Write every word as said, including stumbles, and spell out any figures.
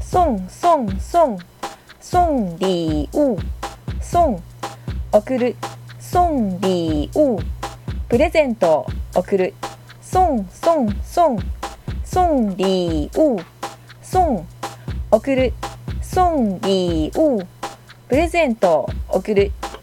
送送送送礼物送送る送礼物プレゼント送る送送送送礼物送送る送礼物プレゼント送る